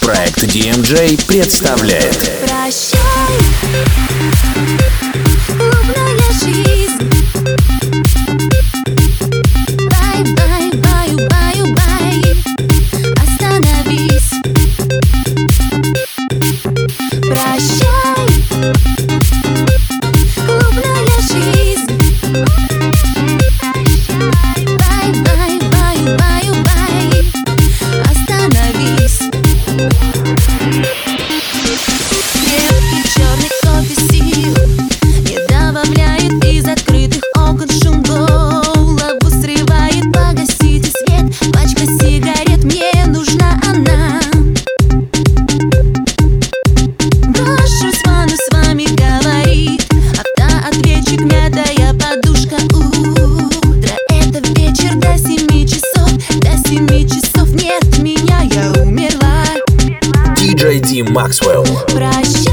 Проект DMJ представляет. Прощай, клубная жизнь. Бай-бай, баю-баю-бай. Остановись. Прощай, клубная жизнь. Бай-бай, баю-баю-бай. Остановись. Крепкий черный кофе сил не добавляет из открытых окон шум голову срывает. Погасите свет, пачка сигарет, мне нужна она. Брошусь в ванну, с вами говорит автоответчик, мятая подушка. Утро — это вечер до 7 часов. До 7 часов нет меня, я умерла. DJ D Maxwell. Прощай.